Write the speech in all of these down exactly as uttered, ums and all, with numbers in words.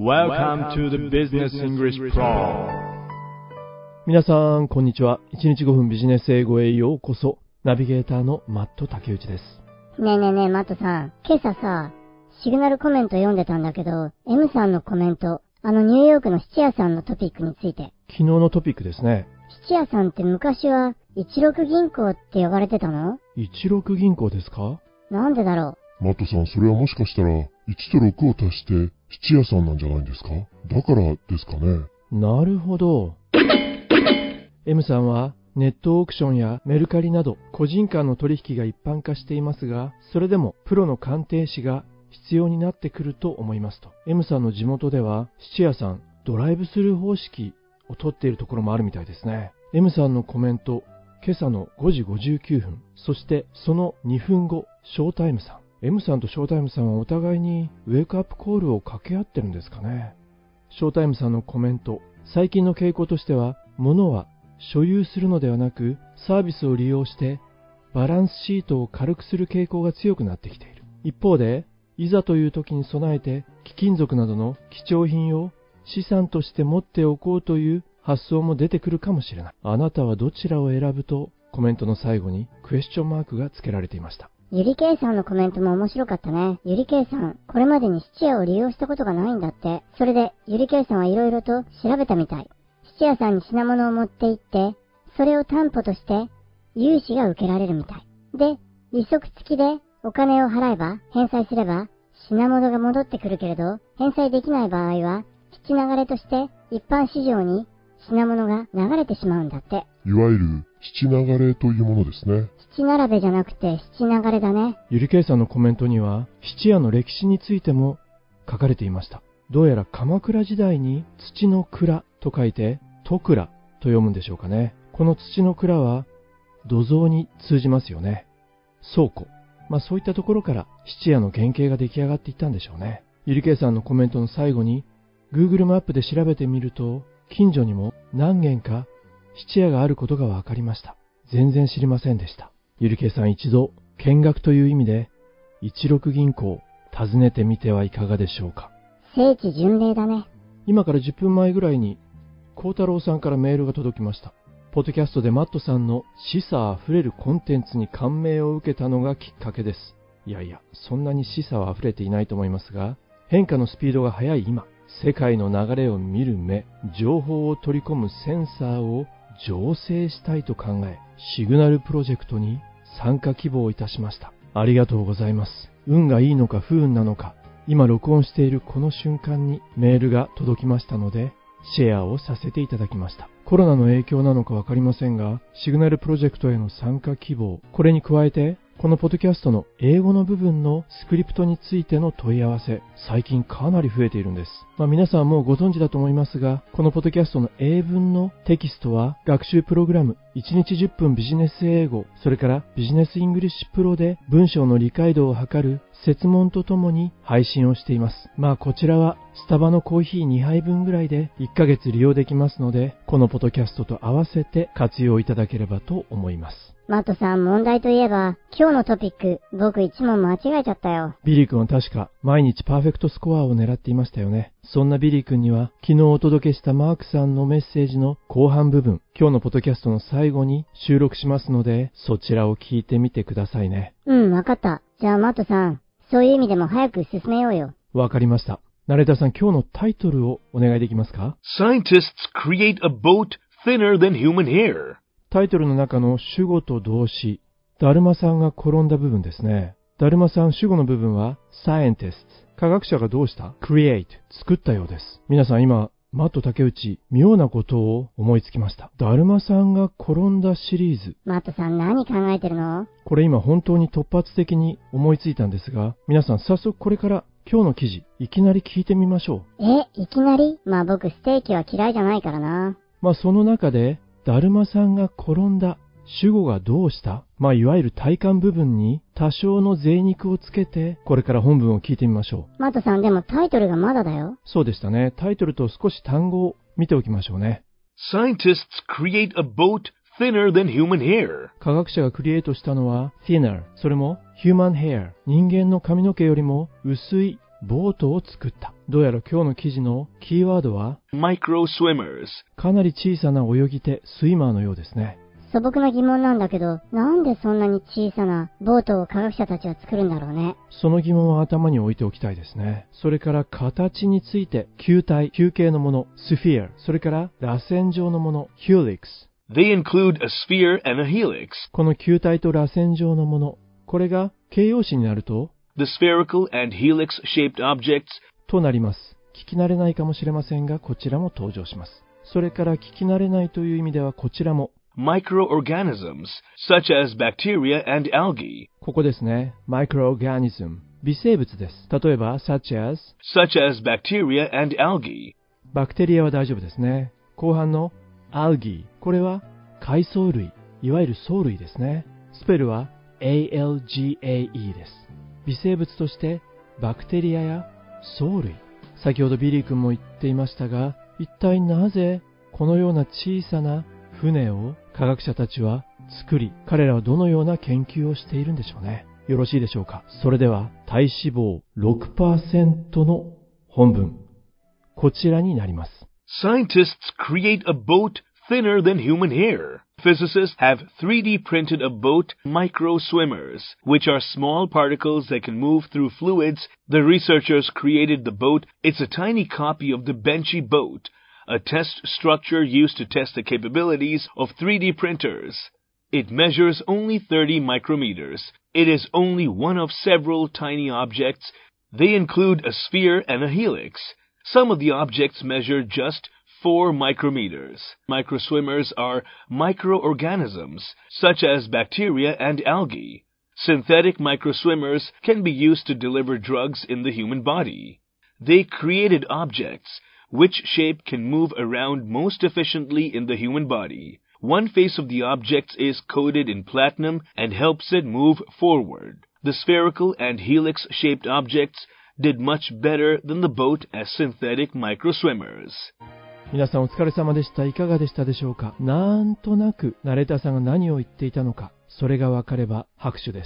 Welcome to the Business English Pro。 皆さんこんにちは。いちにちごふんビジネス英語へようこそ。ナビゲーターのマット竹内です。 ねえねえねえマットさん、今朝さシグナルコメント読んでたんだけど、 M さんのコメント、あのニューヨークの質屋さんのトピックについて。 昨日のトピックですね。 質屋さんって昔は一六銀行って呼ばれてたの？ 一六銀行ですか？ なんでだろマットさん、それはもしかしたらいちとろくを足して質屋さんなんじゃないんですか？だからですかね。 なるほど。M さんはネットオークションやメルカリなど個人間の取引が一般化していますが、それでもプロの鑑定士が必要になってくると思いますと。 M さんの地元では質屋さんドライブスルー方式を取っているところもあるみたいですね。 M さんのコメント、今朝のごじごじゅうきゅうふん、そしてそのにふんご、ショータイムさん。 M さんとショータイムさんはお互いにウェイクアップコールを掛け合ってるんですかね。ショータイムさんのコメント、最近の傾向としては、物は所有するのではなくサービスを利用してバランスシートを軽くする傾向が強くなってきている。一方で、いざという時に備えて貴金属などの貴重品を資産として持っておこうという発想も出てくるかもしれない。あなたはどちらを選ぶと、コメントの最後にクエスチョンマークが付けられていました。 う。ゆりけいさんのコメントも面白かったね。ゆりけいさん、これまでに質屋を利用したことがないんだって。それでゆりけいさんはいろいろと調べたみたい。質屋さんに品物を持って行って、それを担保として融資が受けられるみたい。で、利息付きでお金を払えば、返済すれば品物が戻ってくるけれど、返済できない場合は質流れとして一般市場に品物が流れてしまうんだって。 いわゆる質流れというものですね。 質並べじゃなくて質流れだね。 ゆりけいさんのコメントには質屋の歴史についても書かれていました。どうやら鎌倉時代に土の蔵と書いて戸倉と読むんでしょうかね。この土の蔵は土蔵に通じますよね。倉庫、まあそういったところから質屋の原型が出来上がっていったんでしょうね。ゆりけいさんのコメントの最後に Google マップで調べてみると、近所にも何軒か質屋があることが分かりました。全然知りませんでした。ゆりけいさん、一度見学という意味で一六銀行訪ねてみてはいかがでしょうか。 聖地巡礼だね。 今からじゅっぷんまえぐらいに孝太郎さんからメールが届きました。ポッドキャストでマットさんの示唆あふれるコンテンツに感銘を受けたのがきっかけです。いやいや、そんなに示唆はあふれていないと思いますが、変化のスピードが速い今、世界の流れを見る目、情報を取り込むセンサーを醸成したいと考え、シグナルプロジェクトに参加希望いたしました。ありがとうございます。運がいいのか不運なのか、今録音しているこの瞬間にメールが届きましたので、シェアをさせていただきました。コロナの影響なのかわかりませんが、シグナルプロジェクトへの参加希望、これに加えて、このポッドキャストの英語の部分のスクリプトについての問い合わせ、最近かなり増えているんです。まあ皆さんもうご存知だと思いますが、このポッドキャストの英文のテキストは学習プログラムいちにちじゅっぷんビジネス英語、それからビジネスイングリッシュプロで文章の理解度を測る設問とともに配信をしています。まあこちらはスタバのコーヒーにはいぶんぐらいでいっかげつ利用できますので、このポッドキャストと合わせて活用いただければと思います。 マットさん、問題といえば今日のトピック、僕いち問間違えちゃったよ。 ビリー君は確か毎日パーフェクトスコアを狙っていましたよね。そんなビリー君には昨日お届けしたマークさんのメッセージの後半部分、今日のポッドキャストの最後に収録しますので、そちらを聞いてみてくださいね。 うん、わかった。じゃあマットさん、そういう意味でも早く進めようよ。 わかりました。ナレーターさん、今日のタイトルをお願いできますか？ Scientists create a boat thinner than human hair。 タイトルの中の主語と動詞、だるまさんが転んだ部分ですね。だるまさん、主語の部分は Scientists。科学者がどうした？ Create。作ったようです。皆さん今、マット竹内、妙なことを思いつきました。だるまさんが転んだシリーズ。 マットさん、何考えてるの？ これ今本当に突発的に思いついたんですが、皆さん早速これから今日の記事、いきなり聞いてみましょう。 え、いきなり？まあ僕ステーキは嫌いじゃないからな。 まあその中で、だるまさんが転んだ、主語がどうした、まあいわゆる体幹部分に多少の贅肉をつけて、これから本文を聞いてみましょう。 マットさん、でもタイトルがまだだよ。 そうでしたね。タイトルと少し単語を見ておきましょうね。 Scientists create a boat thinner than human hair。 科学者がクリエイトしたのは thinner、それも human hair、人間の髪の毛よりも薄いボートを作った。どうやら今日の記事のキーワードは micro swimmers. かなり小さな泳ぎ手、スイマーのようですね。 素朴な疑問なんだけど、なんでそんなに小さなボートを科学者たちは作るんだろうね。 その疑問は頭に置いておきたいですね。それから形について、球体、球形のもの、スフィア、それから螺旋状のもの、ヒューリックス。 They include a sphere and a helix. この球体と螺旋状のもの、これが形容詞になると、 The spherical and helix-shaped objects となります。聞き慣れないかもしれませんが、こちらも登場します。それから聞き慣れないという意味ではこちらも、 microorganisms, such as bacteria and algae. ここですね。microorganism、微生物です。例えば、such as, such as bacteria and algae. バクテリアは大丈夫ですね。後半の algae、これは海藻類、いわゆる藻類ですね。スペルは エーエルジーエーイー です。微生物としてバクテリアや藻類。先ほどビリー君も言っていましたが、一体なぜこのような小さな船を科学者たちは作り、彼らはどのような研究をしているんでしょうね。よろしいでしょうか。それでは体脂肪 ろくパーセント の本文、こちらになります。 Scientists create a boat thinner than human hair. Physicists have three D printed a boat, micro swimmers, which are small particles that can move through fluids. The researchers created the boat. It's a tiny copy of the Benchy boat, a test structure used to test the capabilities of three D printers. It measures only thirty micrometers. It is only one of several tiny objects. They include a sphere and a helix. Some of the objects measure just four micrometers. Microswimmers are microorganisms, such as bacteria and algae. Synthetic microswimmers can be used to deliver drugs in the human body. They created objects which shape can move around most efficiently in the human body. One face of the objects is coated in platinum and helps it move forward. The spherical and helix-shaped objects did much better than the boat as synthetic microswimmers. 皆さんお疲れ様でした。いかがでしたでしょうか。なんとなくナレーターさんが何を言っていたのか、それがわかれば拍手です。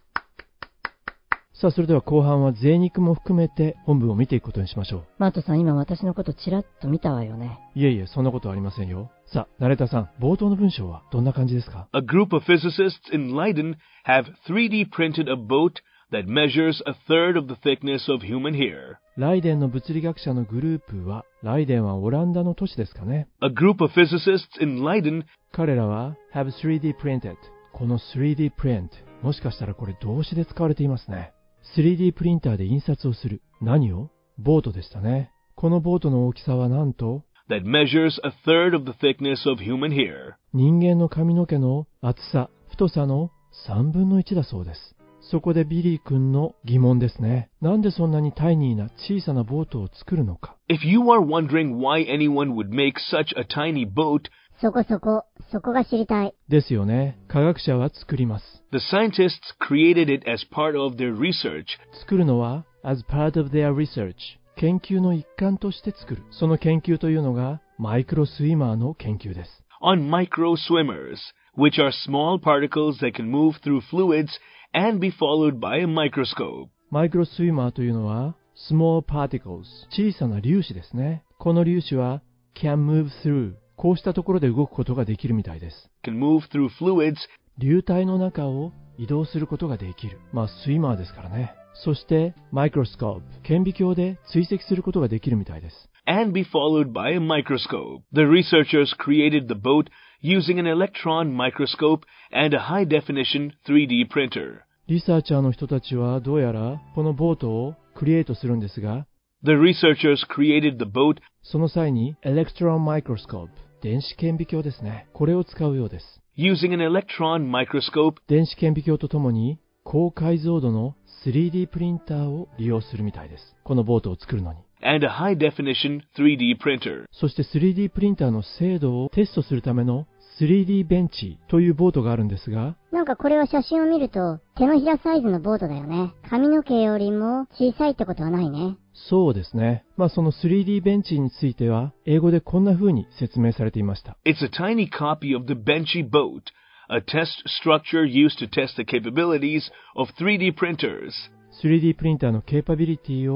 さあ、それでは後半は贅肉も含めて本文を見ていくことにしましょう。 マットさん、今私のことちらっと見たわよね。 いえいえ、そんなことはありませんよ。さあ、ナレーターさん、冒頭の文章はどんな感じですか？ A group of physicists in Leiden have three D printed a boat that measures a third of the thickness of human hair. ライデンの物理学者のグループは、ライデンはオランダの都市ですかね。 A group of physicists in Leiden 彼らは have スリーディー printed。この スリーディー print、もしかしたらこれ動詞で使われていますね。スリーディー プリンターで印刷をする。何を？ボートでしたね。このボートの大きさはなんと that measures a third of the thickness of human hair. 人間の髪の毛の厚さ、太さのさんぶんのいちだそうです。そこでビリー君の疑問ですね。なんでそんなにタイニーな小さなボートを作るのか。 If you are wondering why anyone would make such a tiny boat, そこそこ、そこが知りたい。 ですよね。科学者は作ります。 the scientists created it as part of their research. 作るのは as part of their research。研究の一環として作る。その研究というのがマイクロスイマーの研究です。 on micro swimmers, which are small particles that can move through fluids and be followed by a microscope. マイクロスイマーというのは small particles、小さな粒子ですね。この粒子は can move through、こうしたところで動くことができるみたいです。 can move through fluids 流体の中を移動することができる。まあスイマーですからね。そしてマイクロスコープ、顕微鏡で追跡することができるみたいです。 and be followed by a microscope. The researchers created the boat using an electron microscope and a high-definition スリーディー printer. リサーチャーの人たちはどうやらこのボートをクリエイトするんですが、 The researchers created the boat その際に electron microscope、電子顕微鏡ですね。これを使うようです。 using an electron microscope 電子顕微鏡とともに高解像度の スリーディー プリンターを利用するみたいです。このボートを作るのに。 and a high-definition スリーディー printer. そして スリーディー プリンターの精度をテストするための スリーディー ベンチというボートがあるんですが、 なんかこれは写真を見ると手のひらサイズのボートだよね。髪の毛よりも小さいってことはないね。 そうですね。まあその スリーディー ベンチについては英語でこんな風に説明されていました。 It's a tiny copy of the Benchy boat, a test structure used to test the capabilities of スリーディー printers. スリーディー プリンターのケーパビリティを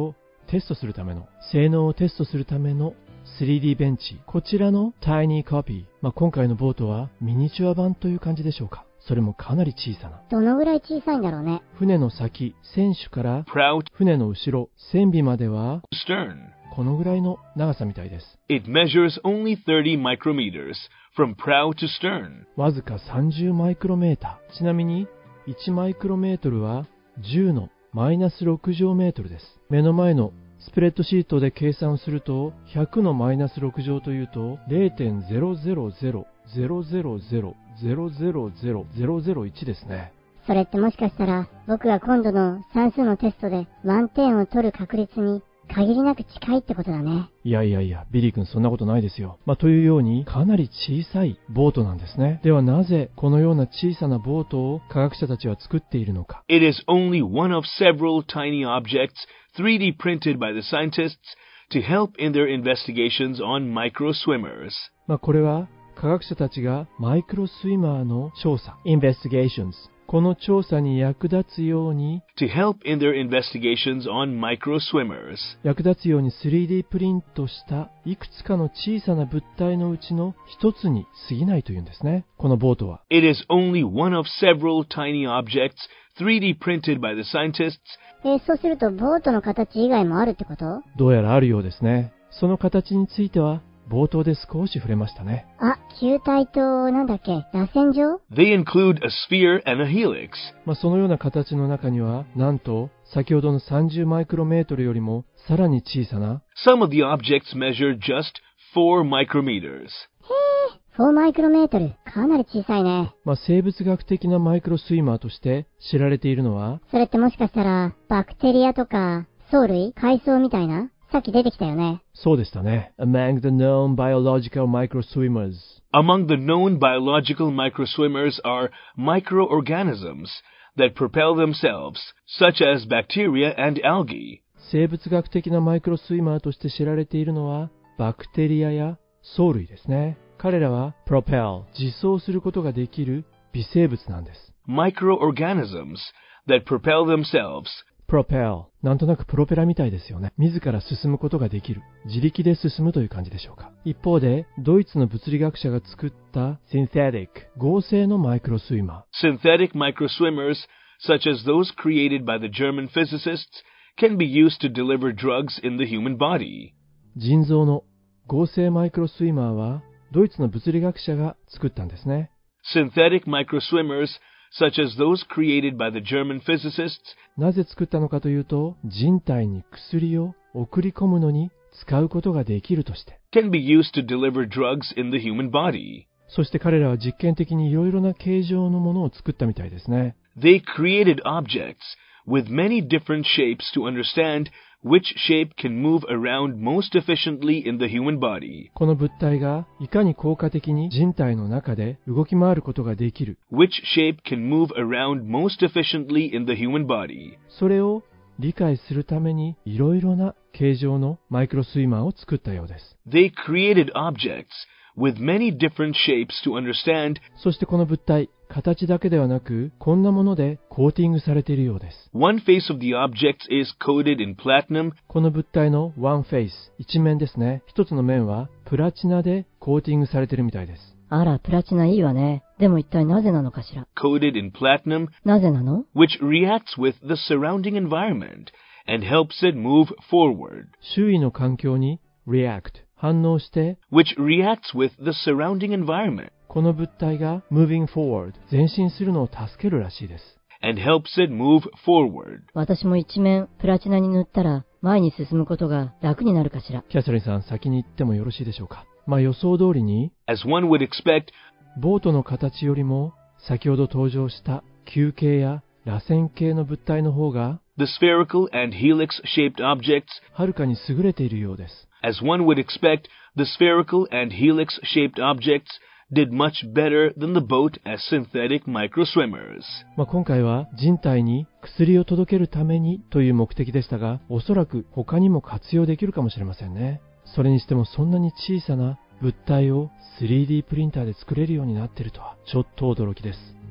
テストするための、性能をテストするための スリーディー ベンチ、こちらの Tiny Copy、まあ、今回のボートはミニチュア版という感じでしょうか。それもかなり小さな。 どのぐらい小さいんだろうね。 船の先、船首から prow 船の後ろ、船尾までは stern. このぐらいの長さみたいです。 It measures only thirty micrometers from prow to stern. わずかさんじゅうマイクロメーター。ちなみにいちマイクロメートルはじゅうのマイナスろく乗メートルです。目の前のスプレッドシートで計算するとひゃくのマイナスろく乗というと ゼロてんゼロゼロゼロゼロゼロゼロゼロゼロゼロゼロゼロいちですね。 それってもしかしたら僕が今度の算数のテストで満点を取る確率に限りなく近いってことだね。 いやいやいや、ビリー君そんなことないですよ。まあ、というようにかなり小さいボートなんですね。ではなぜこのような小さなボートを科学者たちは作っているのか。 It is only one of several tiny objectsスリーディー printed by the scientists to help in their investigations on micro swimmers. まあ、これは科学者たちがマイクロスイマーの調査 investigations、 この調査に役立つように To help in their investigations on micro swimmers. 役立つように スリーディー プリントしたいくつかの小さな物体のうちの一つに過ぎないというんですね。このボートは It is only one of several tiny objectsスリーディー printed by the scientists. えー、そうするとボートの形以外もあるってこと？ どうやらあるようですね。その形については冒頭で少し触れましたね。 あ、球体と、なんだっけ、螺旋状？ They include a sphere and a helix. まあ、そのような形の中には、なんと、先ほどのさんじゅうマイクロメートルよりも、さらに小さな、 Some of the objects measure just four micrometers. よんマイクロメートル。かなり小さいね。 まあ、生物学的なマイクロスイマーとして知られているのは、 それってもしかしたら、バクテリアとか、藻類、海藻みたいな？さっき出てきたよね。 そうでしたね。Among the known biological microswimmers. Among the known biological microswimmers are microorganisms that propel themselves, such as bacteria and algae. 生物学的なマイクロスイマーとして知られているのは、バクテリアや藻類ですね。彼らは propel、自走することができる微生物なんです。 Microorganisms that propel themselves. propel、なんとなくプロペラみたいですよね。自ら進むことができる。自力で進むという感じでしょうか。一方で、ドイツの物理学者が作った synthetic、合成のマイクロスイマー。Synthetic microswimmers, such as those created by the German physicists, can be used to deliver drugs in the human body. 腎臓の合成マイクロスイマーは、ドイツの物理学者が作ったんですね。 Synthetic microswimmers, such as those created by the German physicists. なぜ作ったのかというと、人体に薬を送り込むのに使うことができるとして。 Can be used to deliver drugs in the human body. そして彼らは実験的にいろいろな形状のものを作ったみたいですね。 They created objects with many different shapes to understand which shape can move around most efficiently in the human body. この物体がいかに効果的に人体の中で動き回ることができる。 Which shape can move around most efficiently in the human body. それを理解するためにいろいろな形状のマイクロスイマーを作ったようです。 They created objects with many different shapes to understand. そしてこの物体、形だけではなく、こんなものでコーティングされているようです。 One face of the object is coated in platinum. この物体の one face、一面ですね。一つの面はプラチナでコーティングされているみたいです。 あら、プラチナいいわね。でも一体なぜなのかしら。 Coated in platinum. なぜなの？ Which reacts with the surrounding environment and helps it move forward. 周囲の環境に react、反応して、 which reacts with the surrounding environment. この物体が moving forward、前進するのを助けるらしいです。 and helps it move forward. 私も一面プラチナに塗ったら前に進むことが楽になるかしら。 キャサリンさん、先に言ってもよろしいでしょうか。まあ予想通りに、 As one would expect, ボートの形よりも先ほど登場した球形や螺旋形の物体の方が the spherical and helix-shaped objects, はるかに優れているようです。 as one would expect, the spherical and helix-shaped objects did much better than the boat as synthetic microswimmers. まあ今回は人体に薬を届けるためにという目的でしたが、おそらく他にも活用できるかもしれませんね。それにしてもそんなに小さな物体を スリーディー プリンターで作れるようになっているとはちょっと驚きです。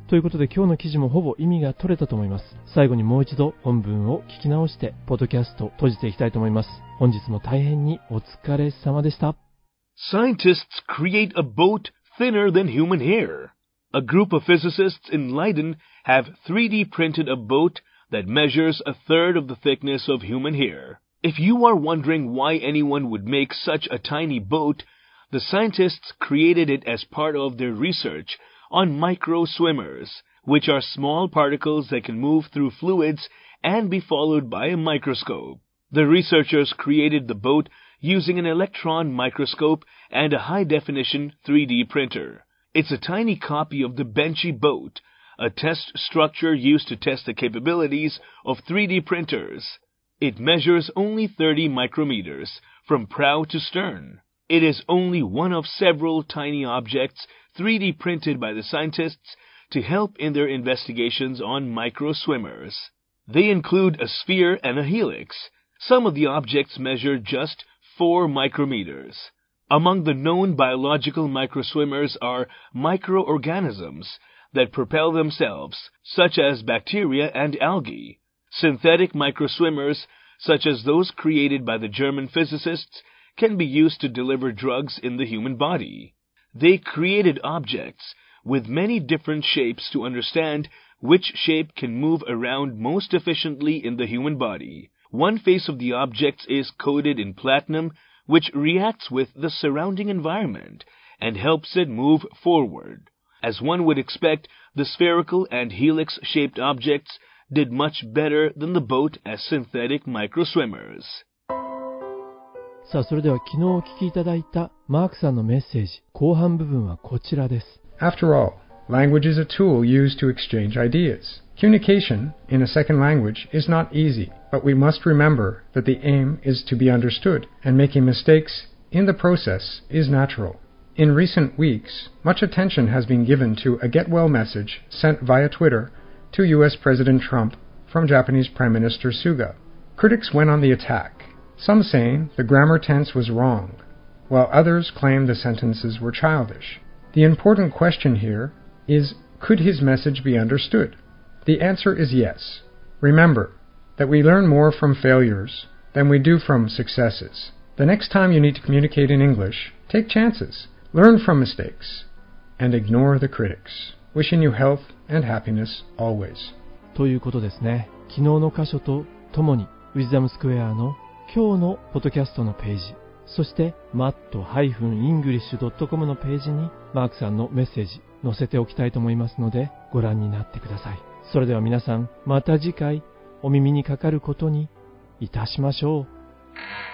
ということで今日の記事もほぼ意味が取れたと思います。最後にもう一度本文を聞き直してポッドキャスト閉じていきたいと思います。本日も大変にお疲れ様でした。 Scientists create a boat thinner than human hair. A group of physicists in Leiden have three D printed a boat that measures a third of the thickness of human hair. If you are wondering why anyone would make such a tiny boat, the scientists created it as part of their research on microswimmers, which are small particles that can move through fluids and be followed by a microscope. The researchers created the boat using an electron microscope and a high-definition three D printer. It's a tiny copy of the Benchy boat, a test structure used to test the capabilities of three D printers. It measures only thirty micrometers from prow to stern. It is only one of several tiny objects three D printed by the scientists to help in their investigations on microswimmers. They include a sphere and a helix. Some of the objects measure just four micrometers. Among the known biological microswimmers are microorganisms that propel themselves, such as bacteria and algae. Synthetic microswimmers, such as those created by the German physicists, can be used to deliver drugs in the human body. They created objects with many different shapes to understand which shape can move around most efficiently in the human body. One face of the objects is coated in platinum, which reacts with the surrounding environment and helps it move forward. As one would expect, the spherical and helix-shaped objects did much better than the boat as synthetic microswimmers. さあ、それでは昨日お聞きいただいたマークさんのメッセージ、後半部分はこちらです。 After all, language is a tool used to exchange ideas. Communication in a second language is not easy, but we must remember that the aim is to be understood, and making mistakes in the process is natural. In recent weeks, much attention has been given to a get-well message sent via Twitter to U S President Trump from Japanese Prime Minister Suga. Critics went on the attack, some saying the grammar tense was wrong, while others claimed the sentences were childish. The important question here is, could his message be understood? The answer is yes. Remember that we learn more from failures than we do from successes. The next time you need to communicate in English, take chances, learn from mistakes, and ignore the critics. Wishing you health and happiness always. ということですね。昨日の箇所とともに、ウィズダムスクエアの今日のポッドキャストのページ、そして マット イングリッシュ ドットコム のページにマークさんのメッセージ載せておきたいと思いますのでご覧になってください。それでは皆さんまた次回お耳にかかることにいたしましょう。